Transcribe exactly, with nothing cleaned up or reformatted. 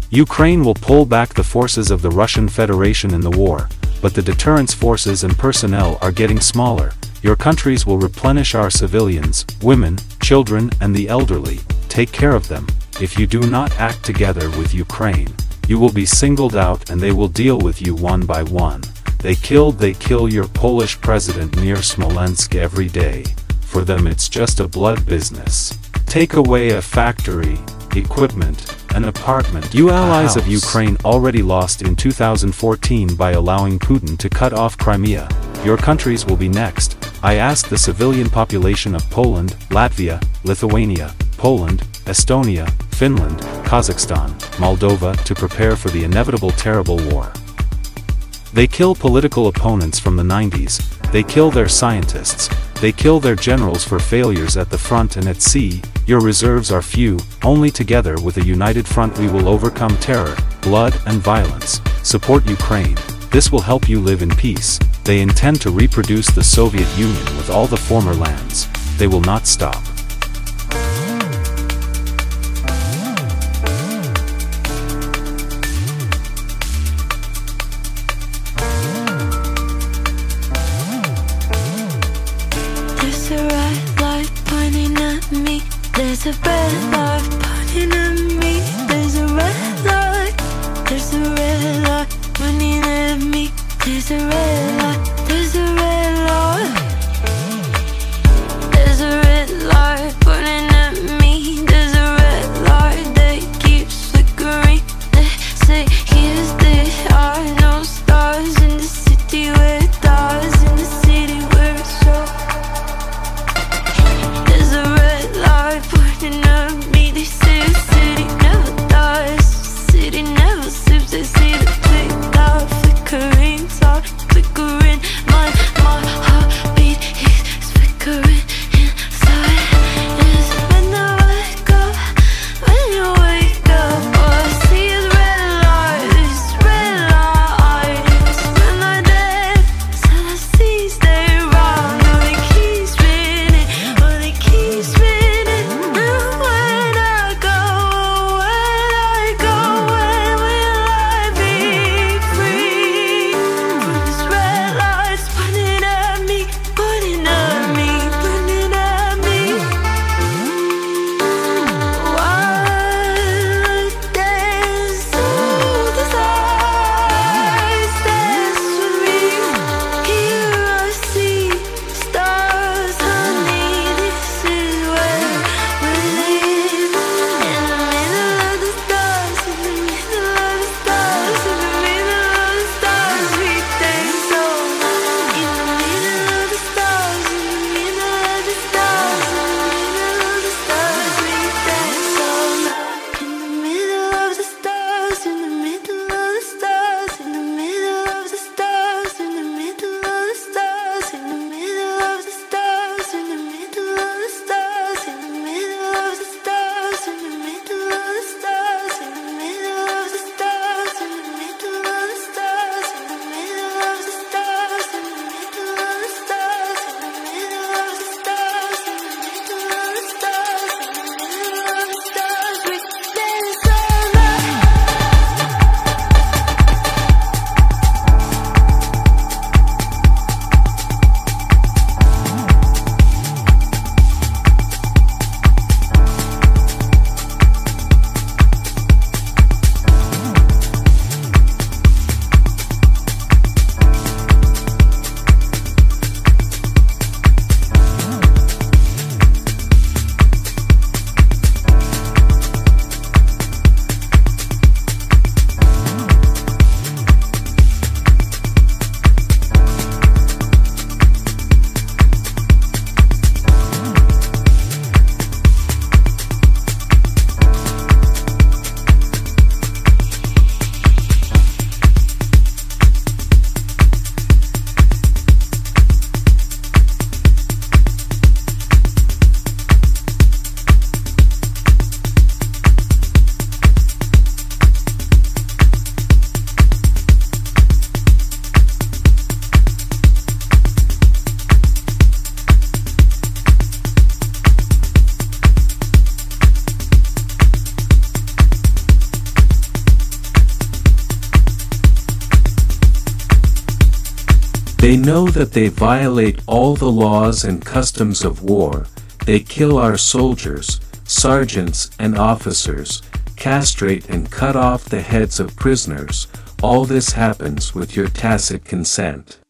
Ukraine will pull back the forces of the Russian Federation in the war, but the deterrence forces and personnel are getting smaller. Your countries will replenish our civilians, women, children and the elderly. Take care of them. If you do not act together with Ukraine, you will be singled out and they will deal with you one by one. They killed they kill your Polish president near Smolensk every day. For them it's just a blood business. Take away a factory, equipment, an apartment. You allies of Ukraine already lost in two thousand fourteen by allowing Putin to cut off Crimea. Your countries will be next. I ask the civilian population of Poland, Latvia, Lithuania, Poland, Estonia, Finland, Kazakhstan, Moldova to prepare for the inevitable terrible war. They kill political opponents from the nineties, they kill their scientists, they kill their generals for failures at the front and at sea. Your reserves are few, only together with a united front we will overcome terror, blood and violence. Support Ukraine, this will help you live in peace. They intend to reproduce the Soviet Union with all the former lands. They will not stop. There's a red light pointing at me. There's a red light pointing at me. There's a red light. There's a red light pointing at me. There's a red light. There's a red light. There's a red light. They know that they violate all the laws and customs of war. They kill our soldiers, sergeants and officers, castrate and cut off the heads of prisoners. All this happens with your tacit consent.